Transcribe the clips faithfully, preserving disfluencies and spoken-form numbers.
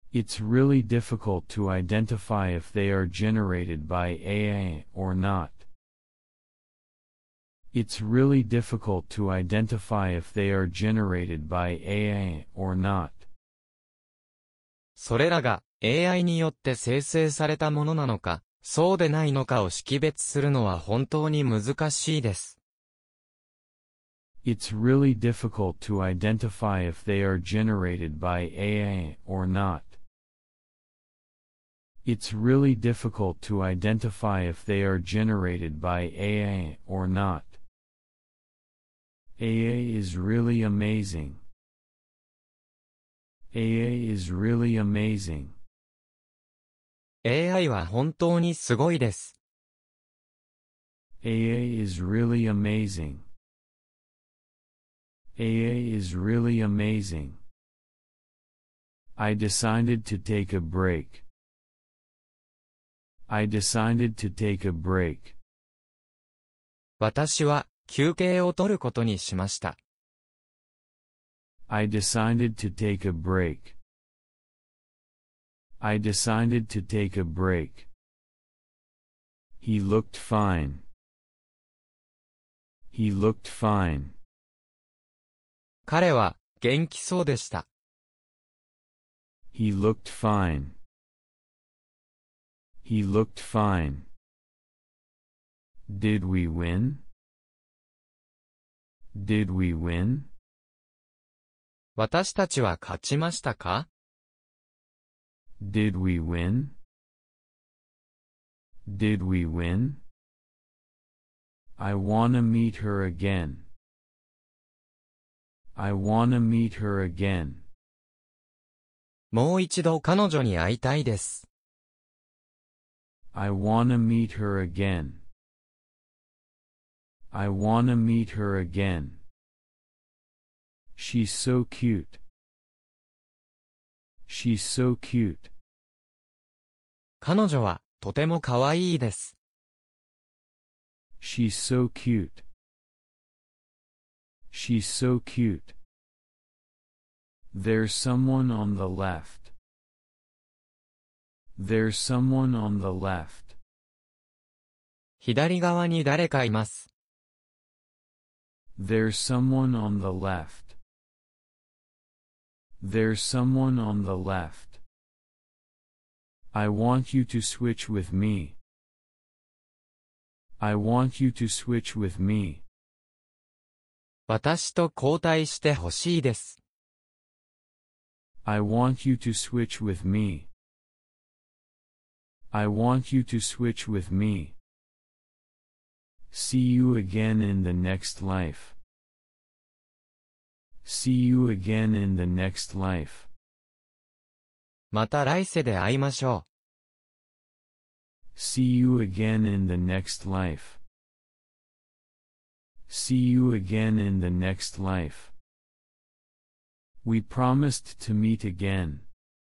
It's really difficult to identify if they are generated by A I or not. It's really difficult to identify if they are generated by A I or not. それらが エーアイ によって生成されたものなのか、そうでないのかを識別するのは本当に難しいです。 It's really difficult to identify if they are generated by A I or not. It's really difficult to identify if they are generated by A I or not. A I is really amazing. A I is really amazing. エーアイ は本当にすごいです。 A I is really amazing. A I is really amazing. I decided to take a break. I decided to take a break. 私は休憩を取ることにしました。 I decided to take a break. I decided to take a break. He looked fine. He looked fine. 彼は元気そうでした。 He looked fine. He looked fine. Did we win? Did we win? 私たちは勝ちましたか？ Did we win? Did we win? I wanna meet her again. I wanna meet her again. もう一度彼女に会いたいです。 I wanna meet her again. I wanna meet her again. She's so cute. She's so cute. 彼女はとても可愛いです。 She's so cute. She's so cute. There's someone on the left. There's someone on the left. 左側に誰かいます。 There's someone on the left. There's someone on the left. I want you to switch with me. I want you to switch with me. 私と交代してほしいです。 I want you to switch with me. I want you to switch with me. See you again in the next life. See you again in the next life. また来世で会いましょう。 See you again in the next life. See you again in the next life. We promised to meet again.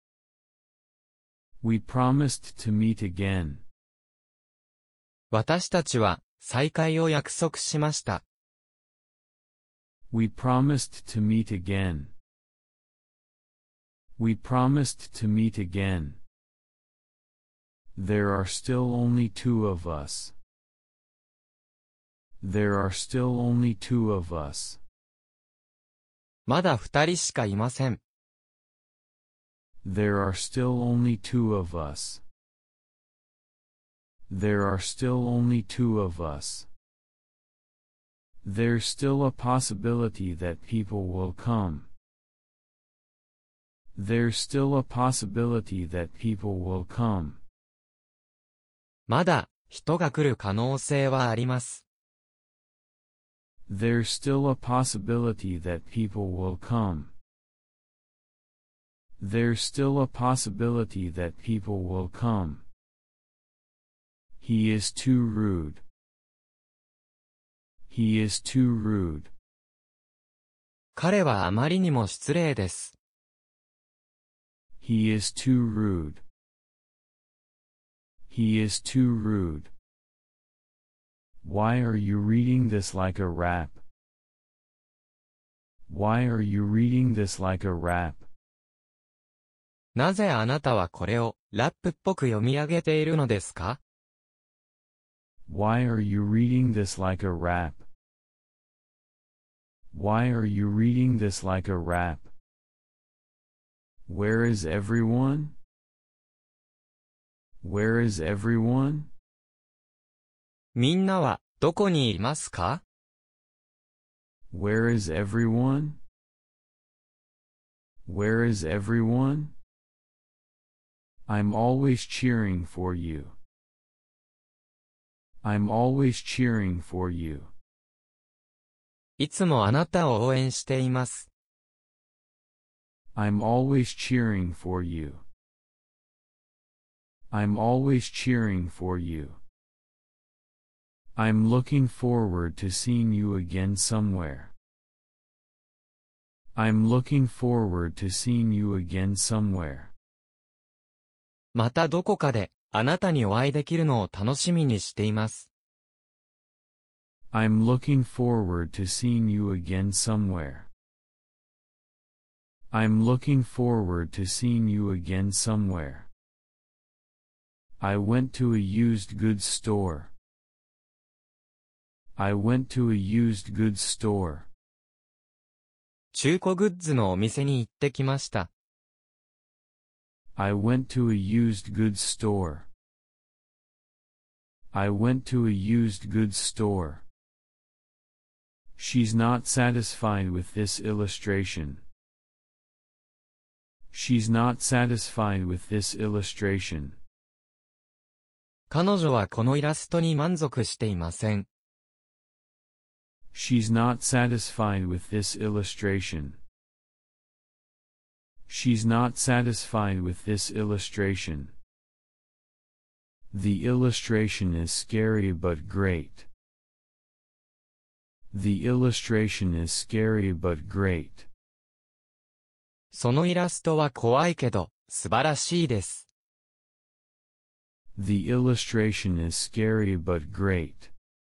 We promised to meet again. 私たちは再会を約束しました。 We promised to meet again. We promised to meet again. There are still only two of us. There are still only two of us. まだ二人しかいません。 There are still only two of us. There are still only two of us. There's still a possibility that people will come. There's still a possibility that people will come. まだ人が来る可能性はあります。 There's still a possibility that people will come. There's still a possibility that people will come. He is too rude. He is too rude. 彼はあまりにも失礼です。 He is too rude. He is too rude. Why are you reading this like a rap? Why are you reading this like a rap? なぜあなたはこれをラップっぽく読み上げているのですか？ Why are you reading this like a rap? Why are you reading this like a rap? Where is everyone? Where is everyone? みんなはどこにいますか？ Where is everyone? Where is everyone? I'm always cheering for you. I'm always cheering for you. いつもあなたを応援しています。 I'm always cheering for you. I'm always cheering for you. I'm looking forward to seeing you again somewhere. I'm looking forward to seeing you again somewhere. またどこかであなたにお会いできるのを楽しみにしています。 I'm looking forward to seeing you again somewhere. I'm looking forward to seeing you again somewhere. I went to a used goods store. I went to a used goods store. 中古グッズのお店に行ってきました。 I went to a used goods store. I went to a used goods store. She's not satisfied with this illustration. She's not satisfied with this illustration. 彼女はこのイラストに満足していません。 She's not satisfied with this illustration. She's not satisfied with this illustration. The illustration is scary but great. The illustration is scary but great. そのイラストは怖いけど、素晴らしいです。 The illustration is scary but great.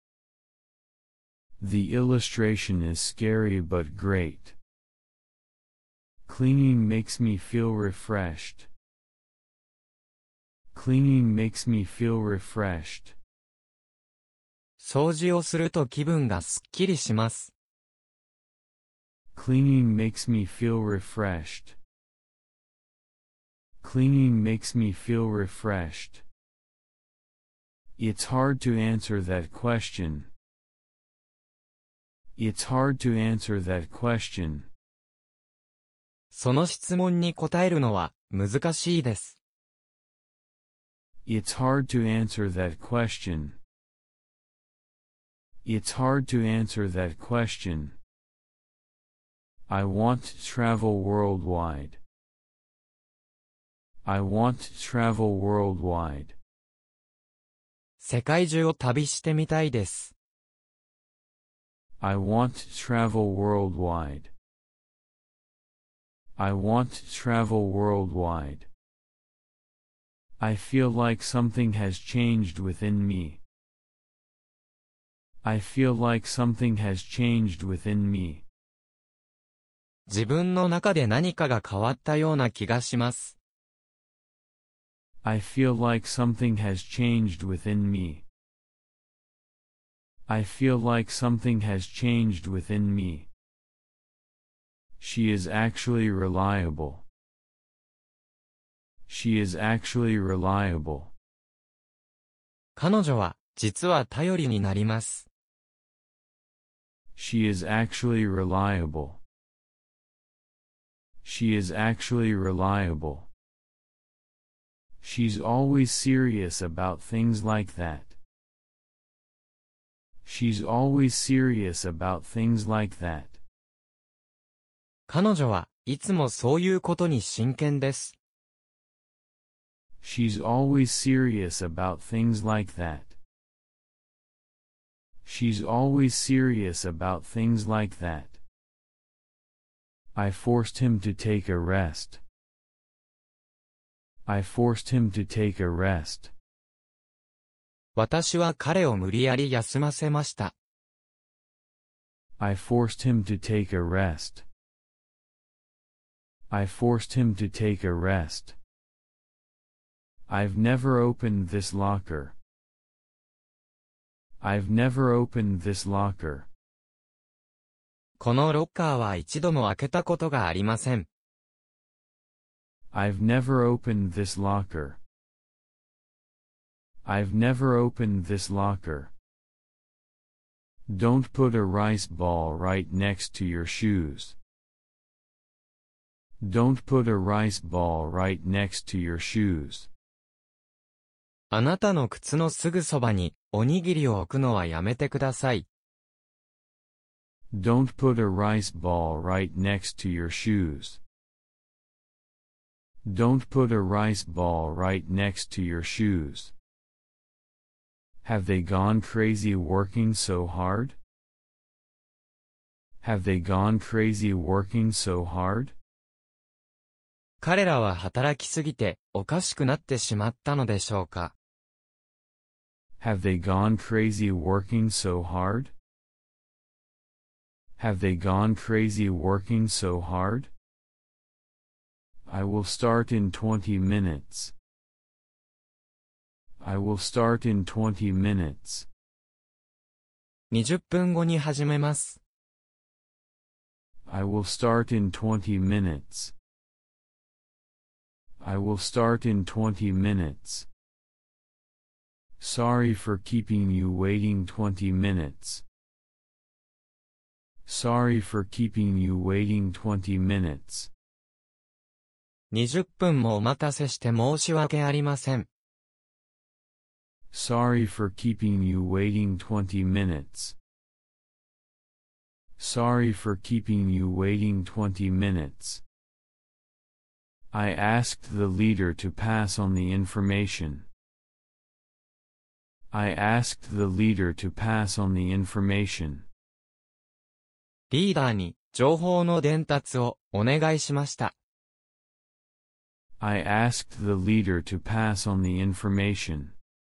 The illustration is scary but great. Cleaning makes me feel refreshed. Cleaning makes me feel refreshed. 掃除をすると気分がすっきりします。 Cleaning makes me feel refreshed. Cleaning makes me feel refreshed. It's hard to answer that question. It's hard to answer that question. その質問に答えるのは難しいです。 It's hard to answer that question. It's hard to answer that question. I want to travel worldwide. I want to travel worldwide. 世界中を旅してみたいです。 I want to travel worldwide. I want to travel worldwide. I feel like something has changed within me. I feel like something has changed within me. 自分の中で何かが変わったような気がします。 I feel like something has changed within me. I feel like something has changed within me. She is actually reliable. She is actually reliable. 彼女は実は頼りになります。 She is actually reliable. She is actually reliable. She's always serious about things like that. She's always serious about things like that. 彼女はいつもそういうことに真剣です。 She's always serious about things like that. She's always serious about things like that. I forced him to take a rest. I forced him to take a rest. 私は彼を無理やり休ませました。 I forced him to take a rest. I forced him to take a rest. I've never opened this locker. I've never opened this locker. このロッカーは一度も開けたことがありません。 I've never opened this locker. I've never opened this locker. Don't put a rice ball right next to your shoes. Don't put a rice ball right next to your shoes. あなたの靴のすぐそばにおにぎりを置くのはやめてください。 Don't put a rice ball right next to your shoes. Don't put a rice ball right next to your shoes. Have they gone crazy working so hard? Have they gone crazy working so hard? 彼らは働きすぎておかしくなってしまったのでしょうか。 Have they gone crazy working so hard? Have they gone crazy working so hard? I will start in twenty minutes. I will start in twenty minutes. にじゅっぷんごに始めます。 I will start in twenty minutes. I will start in twenty minutes. Sorry for keeping you waiting twenty minutes. Sorry for keeping you waiting twenty minutes. にじゅっぷんもお待たせして申し訳ありません。 Sorry for keeping you waiting twenty minutes. Sorry for keeping you waiting twenty minutes. I asked the leader to pass on the information. I asked the leader to pass on the information. リーダーに情報の伝達をお願いしました。 I asked the leader to pass on the information.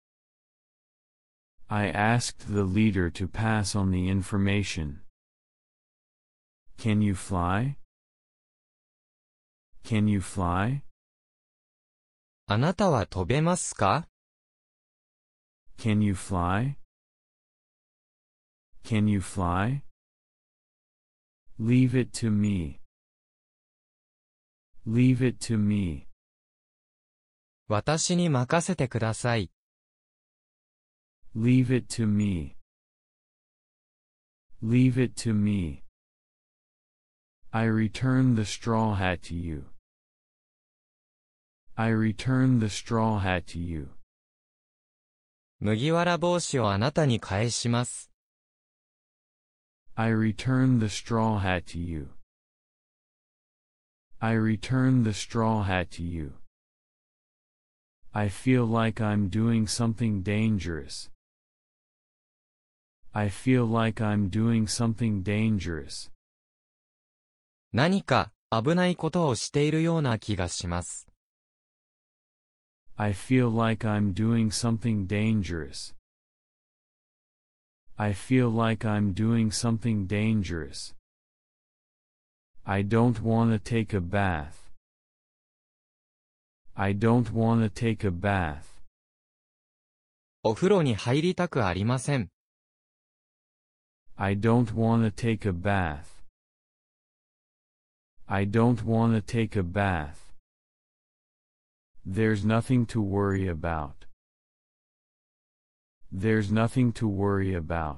I asked the leader to pass on the information. Can you fly? Can you fly? あなたは飛べますか？ Can you fly? Can you fly? Leave it to me. Leave it to me. 私に任せてください。 Leave it to me. Leave it to me. I return the straw hat to you. I return the straw hat to you. 麦わら帽子をあなたに返します。 I return the straw hat to you. I return the straw hat to you. I feel like I'm doing something dangerous. I feel like I'm doing something dangerous. 何か危ないことをしているような気がします。 I feel like I'm doing something dangerous. I feel like I'm doing something dangerous. I don't want to take a bath. I don't want to take a bath. お風呂に入りたくありません。 I don't want to take a bath. I don't want to take a bath. There's nothing to worry about. There's nothing to worry about.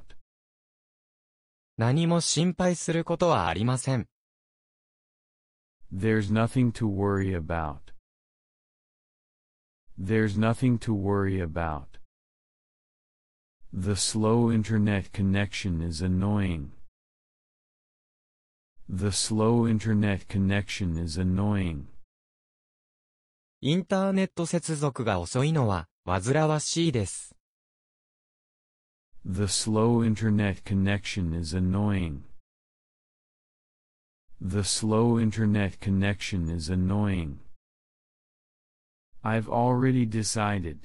何も心配することはありません。 There's nothing to worry about. There's nothing to worry about. The slow internet connection is annoying. The slow internet connection is annoying. インターネット接続が遅いのは煩わしいです。 The slow internet connection is annoying. The slow internet connection is annoying. I've already decided.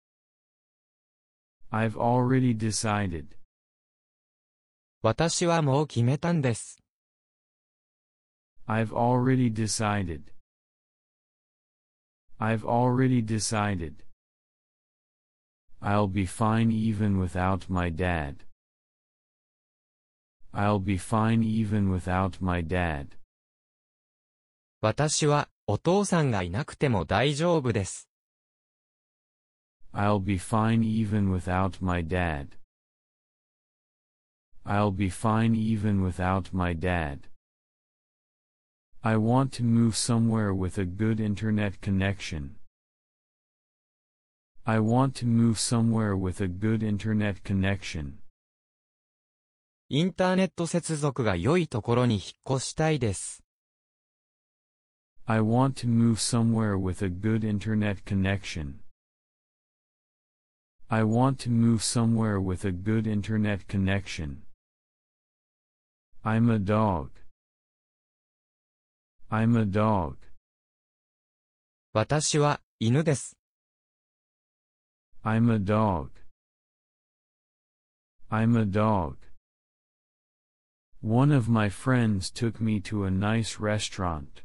I've already decided. 私はもう決めたんです。 I've already decided. I've already decided. I'll be fine even without my dad. I'll be fine even without my dad. 私は、お父さんがいなくても大丈夫です。 I'll be fine even without my dad. I'll be fine even without my dad. I want to move somewhere with a good internet connection. I want to move somewhere with a good internet connection. インターネット接続が良いところに引っ越したいです。 I want to move somewhere with a good internet connection. I want to move somewhere with a good internet connection. I'm a dog. I'm a dog. 私は犬です。 I'm a dog. I'm a dog. One of my friends took me to a nice restaurant.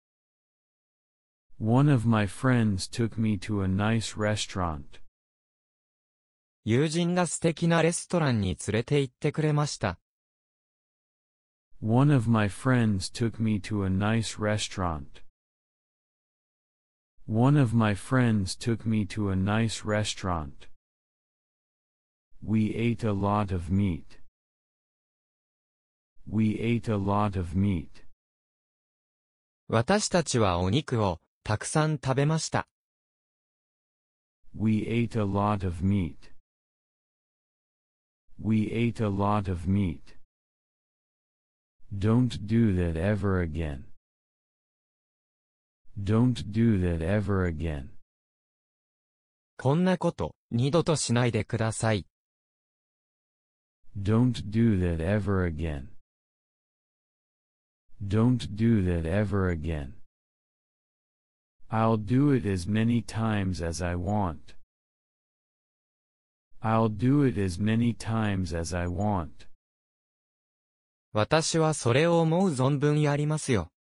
One of my friends took me to a nice restaurant. 友人が素敵なレストランに連れて行ってくれました。 One of my friends took me to a nice restaurant. One of my friends took me to a nice restaurant. We ate a lot of meat. We ate a lot of meat. 私たちはお肉をたくさん食べました。 We ate a lot of meat. We ate a lot of meat. Don't do that ever again. Don't do that ever again. こんなこと二度としないでください。 Don't do that ever again. Don't do that ever again. I'll do it as many times as I want. I'll do it as many times as I want. 私はそれを思う存分やりますよ。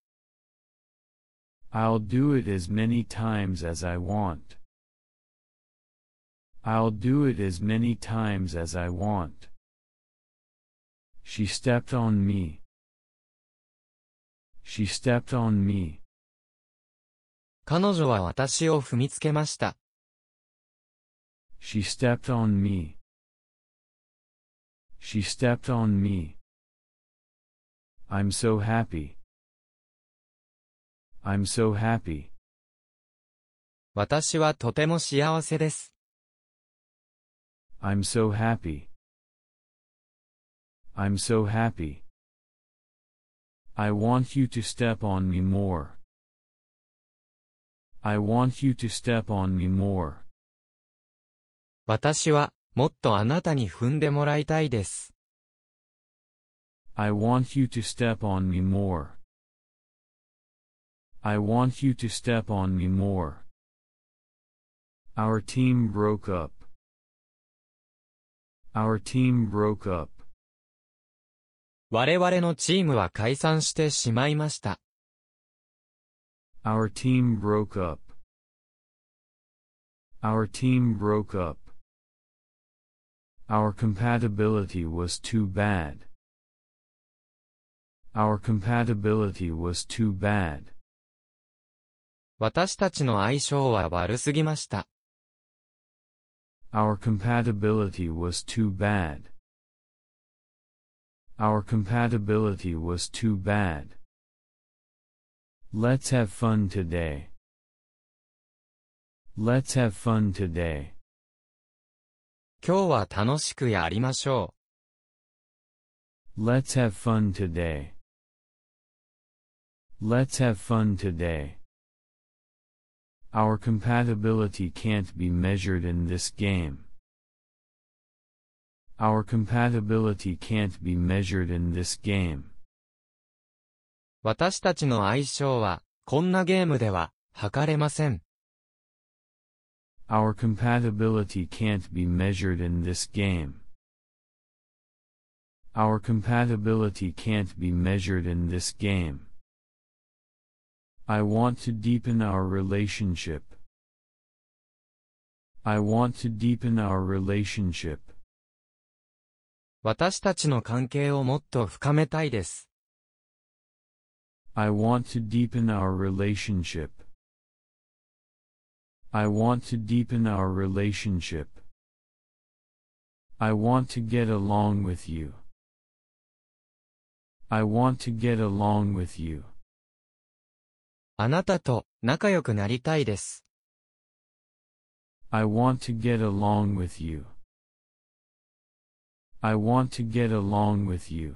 I'll do it as many times as I want. I'll do it as many times as I want. She stepped on me. She stepped on me. 彼女は私を踏みつけました。 She stepped on me. She stepped on me. I'm so happy. I'm so happy. 私はとても幸せです。 I'm so happy. I'm so happy. I want you to step on me more. I want you to step on me more. 私はもっとあなたに踏んでもらいたいです。 I want you to step on me more. I want you to step on me more. Our team broke up. Our team broke up. 我々のチームは解散してしまいました。 Our team broke up. Our team broke up. Our compatibility was too bad. Our compatibility was too bad. 私たちの相性は悪すぎました。 Our compatibility was too bad. Our compatibility was too bad. Let's have fun today. Let's have fun today. 今日は楽しくやりましょう。Let's have fun today. Let's have fun today. Our compatibility can't be measured in this game. Our compatibility can't be measured in this game. 私たちの相性は、こんなゲームでは、測れません。 Our compatibility can't be measured in this game. Our compatibility can't be measured in this game. I want to deepen our relationship. I want to deepen our relationship. 私たちの関係をもっと深めたいです。 I want to deepen our relationship. I want to deepen our relationship. I want to get along with you. I want to get along with you. あなたと仲良くなりたいです。 I want to get along with you. I want to get along with you.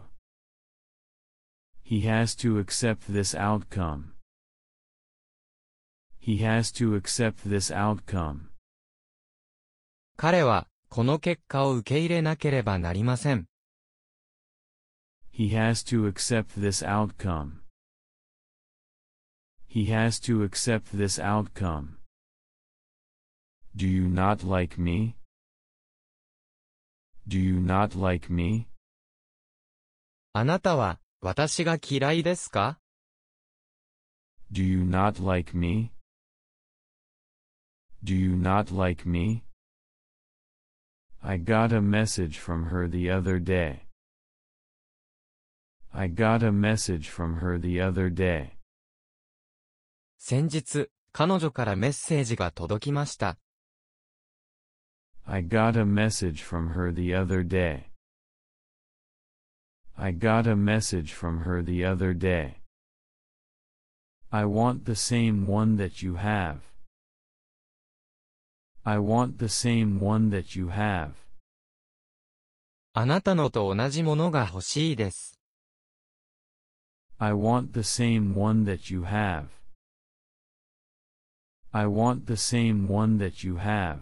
He has to accept this outcome. He has to accept this outcome. 彼はこの結果を受け入れなければなりません。 He has to accept this outcome. He has to accept this outcome. Do you not like me? Do you not like me? あなたは私が嫌いですか？ Do you not like me? Do you not like me? I got a message from her the other day. I got a message from her the other day. 先日、彼女からメッセージが届きました。 I got a message from her the other day. I got a message from her the other day. I want the same one that you have. I want the same one that you have. あなたのと同じものが欲しいです。 I want the same one that you have. I want the same one that you have.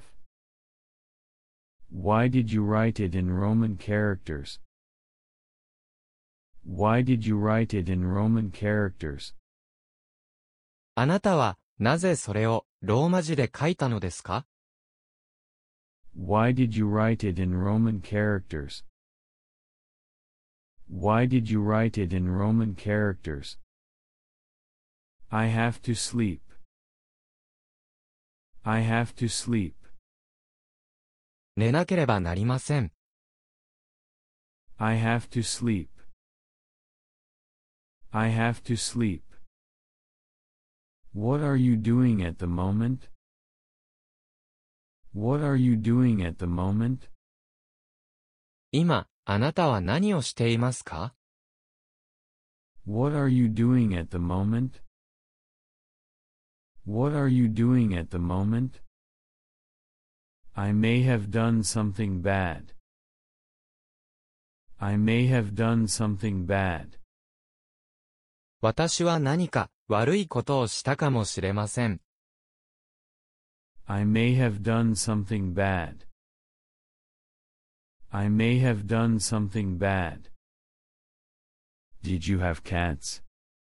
Why did you write it in Roman characters? Why did you write it in Roman characters? あなたはなぜそれをローマ字で書いたのですか？ Why did you write it in Roman characters? Why did you write it in Roman characters? I have to sleep. I have to sleep. 寝なければなりません。 I have to sleep. I have to sleep. What are you doing at the moment? What are you doing at the moment? 今、あなたは何をしていますか？ What are you doing at the moment? What are you doing at the moment? I may have done something bad. I may have done something bad. 私は何か悪いことをしたかもしれません。 I may have done something bad. I may have done something bad. Did you have cats?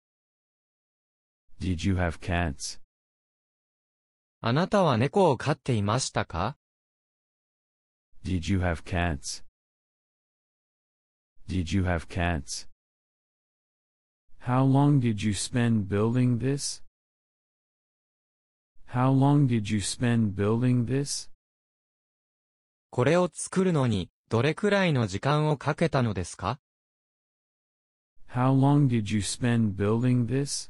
Did you have cats? あなたは猫を飼っていましたか？ Did you have cats? Did you have cats? How long did you spend building this? How long did you spend building this? これを作るのにどれくらいの時間をかけたのですか？ How long did you spend building this?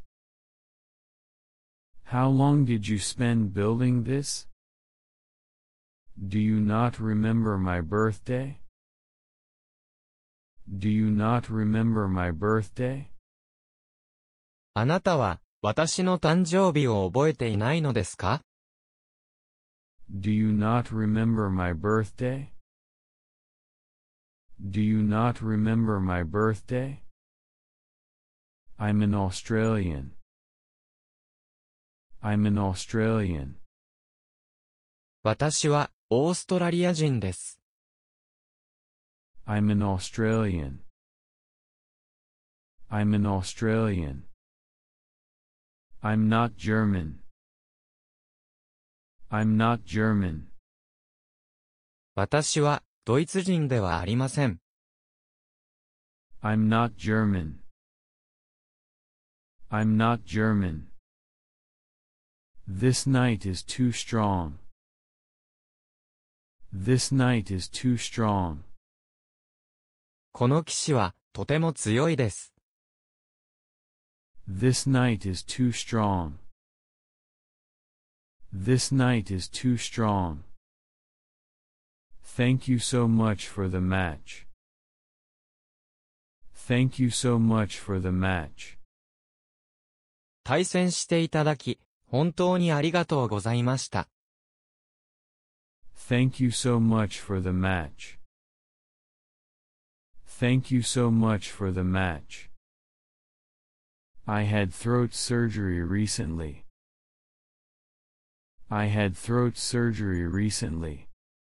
How long did you spend building this? Do you not remember my birthday? Do you not remember my birthday? あなたは私の誕生日を覚えていないのですか？ Do you not remember my birthday? Do you not remember my birthday? I'm an Australian. I'm an Australian. 私はオーストラリア人です。 I'm an Australian. I'm an Australian. I'm not German. I'm not German. 私はドイツ人ではありません。 I'm not German. I'm not German. This knight is too strong. This knight is too strong. この騎士はとても強いです。 This knight is too strong. This knight is too strong. Thank you so much for the match. Thank you so much for the match. 対戦していただき、本当にありがとうございました。 Thank you so much for the match. Thank you so much for the match. I had throat surgery recently. I had throat surgery recently.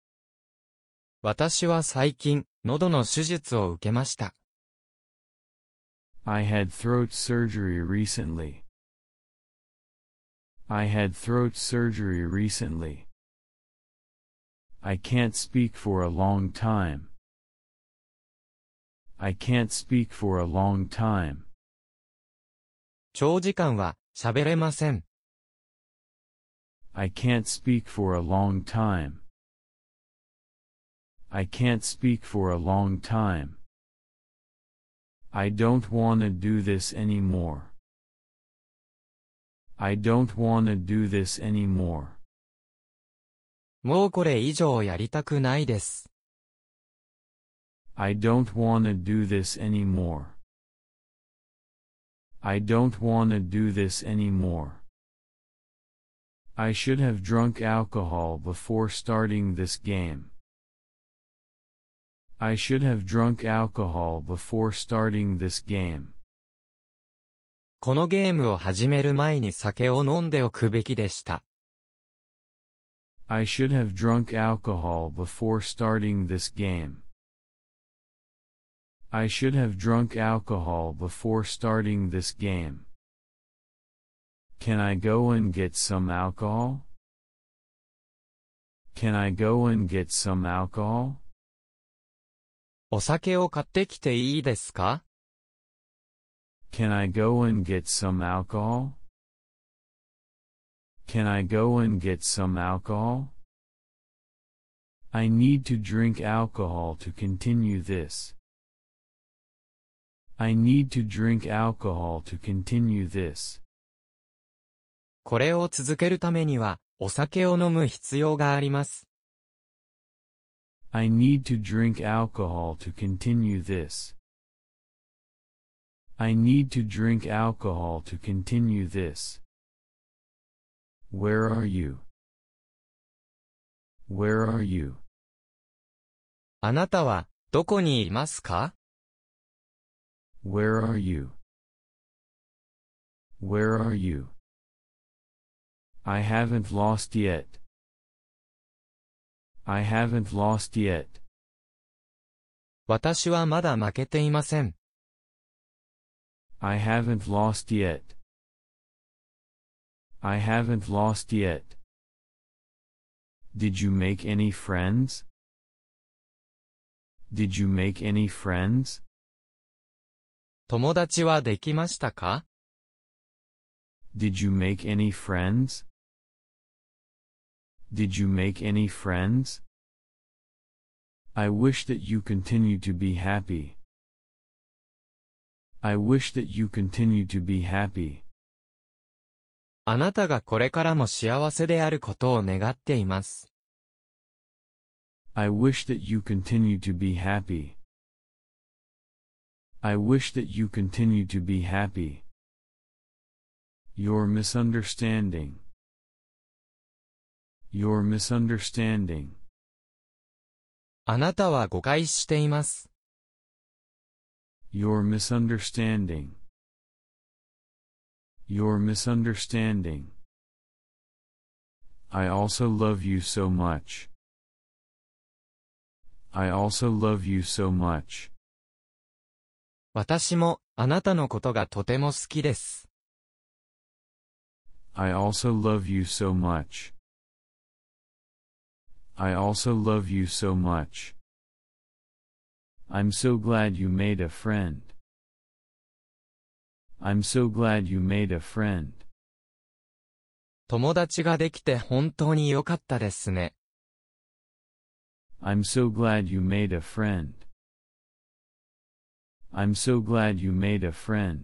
私は最近、喉の手術を受けました。 I had throat surgery recently. I had throat surgery recently. I can't speak for a long time. I can't speak for a long time. 長時間は喋れません。 I can't speak for a long time. I can't speak for a long time. I don't wanna do this anymore. I don't wanna do this anymore. もうこれ以上やりたくないです。 I don't wanna do this anymore. I don't wanna do this anymore. I should have drunk alcohol before starting this game. I should have drunk alcohol before starting this game. このゲームを始める前に酒を飲んでおくべきでした。 I should have drunk alcohol before starting this game. I should have drunk alcohol before starting this game. Can I go and get some alcohol? Can I go and get some alcohol? お酒を買ってきていいですか？ Can I go and get some alcohol? Can I go and get some alcohol? I need to drink alcohol to continue this. I need to drink alcohol to continue this. これを続けるためには、お酒を飲む必要があります。 I need to drink alcohol to continue this. I need to drink alcohol to continue this. Where are you? Where are you? あなたは、どこにいますか？ Where are you? Where are you? I haven't lost yet. I haven't lost yet. 私はまだ負けていません。 I haven't lost yet. I haven't lost yet. Did you make any friends? Did you make any friends? 友達はできましたか？ Did you make any friends? Did you make any friends? I wish that you continue to be happy. I wish that you continue to be happy. あなたがこれからも幸せであることを願っています。 I wish that you continue to be happy. I wish that you continue to be happy. You're misunderstanding. You're misunderstanding. あなたは誤解しています。 You're misunderstanding. You're misunderstanding. I also love you so much. I also love you so much. 私もあなたのことがとても好きです。 I also love you so much. I also love you so much. I'm so glad you made a friend. I'm so glad you made a friend. 友達ができて本当に良かったですね。 I'm so glad you made a friend. I'm so glad you made a friend.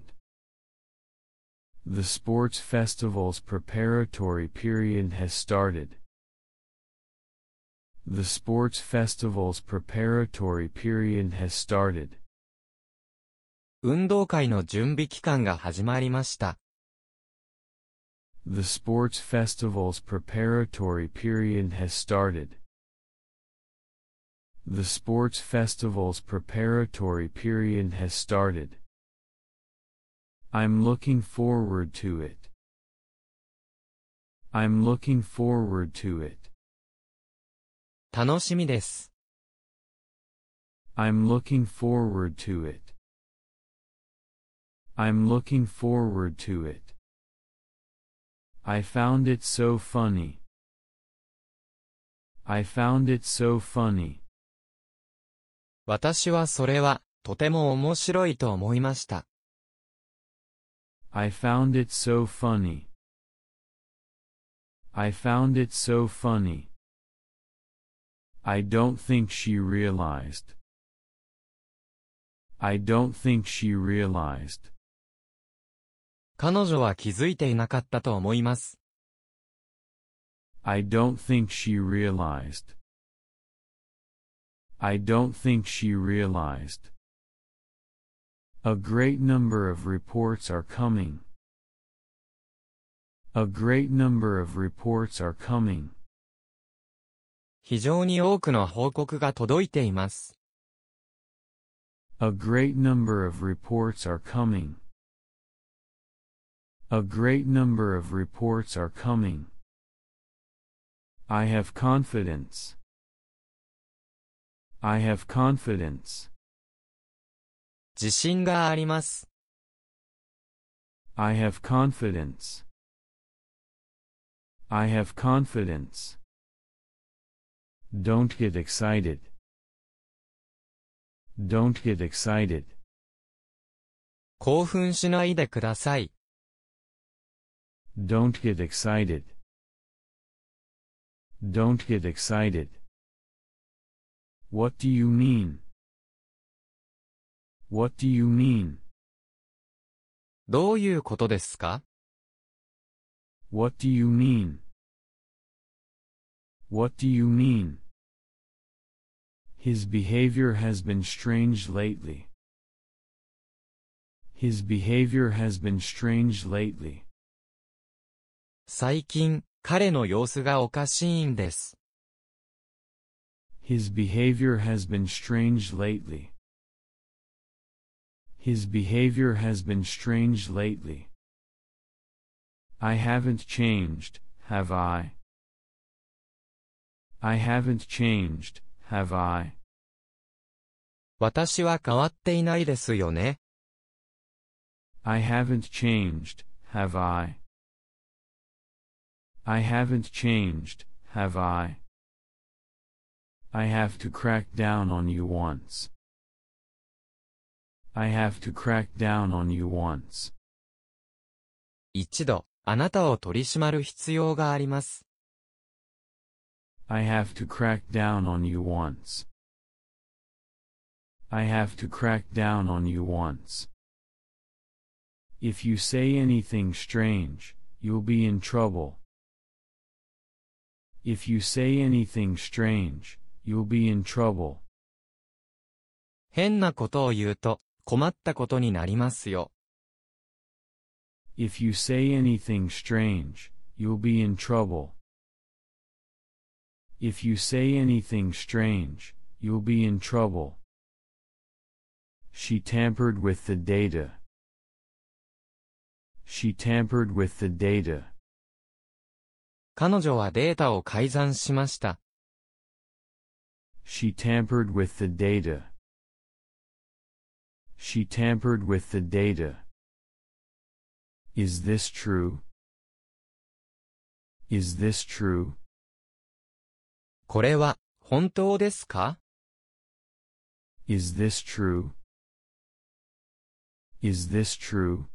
The sports festival's preparatory period has started. The sports festival's preparatory period has started. 運動会の準備期間が始まりました。 The sports festival's preparatory period has started. The sports festival's preparatory period has started. I'm looking forward to it. I'm looking forward to it. 楽しみです。 I'm looking forward to it. I'm looking forward to it. I found it so funny. I found it so funny. 私はそれはとても面白いと思いました。 I found it so funny. I found it so funny. I don't think she realized. I don't think she realized. 彼女は気づいていなかったと思います。 I don't think she realized. I don't think she realized. A great number of reports are coming. A great number of reports are coming. 非常に多くの報告が届いています。 A great number of reports are coming. A great number of reports are coming. I have confidence. I have confidence. 自信があります。 I have confidence. I have confidence. Don't get excited. Don't get excited. 興奮しないでください。 Don't get excited. Don't get excited. What do you mean? What do you mean? どういうことですか？ What do you mean? What do you mean? His behavior has been strange lately. His behavior has been strange lately. 最近、彼の様子がおかしいんです。 His behavior has been strange lately. His behavior has been strange lately. I haven't changed, have I? I haven't changed, have I? 私は変わっていないですよね。 I haven't changed, have I? I haven't changed, have I? I have to crack down on you once. I have to crack down on you once. 一度、あなたを取り締まる必要があります。 I have to crack down on you once. I have to crack down on you once. If you say anything strange, you'll be in trouble. If you say anything strange, you'll be in trouble. 変なことを言うと、困ったことになりますよ。 If you say anything strange, you'll be in trouble. If you say anything strange, you'll be in trouble. She tampered with the data. She tampered with the data. 彼女はデータを改ざんしました。 She tampered with the data. She tampered with the data. Is this true? Is this true? これは、本当ですか？ Is this true? Is this true?